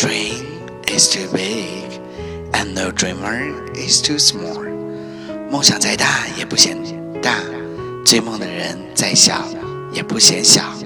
dream is too big, and no dreamer is too small. 梦想再大也不嫌大，追梦的人再小也不嫌小。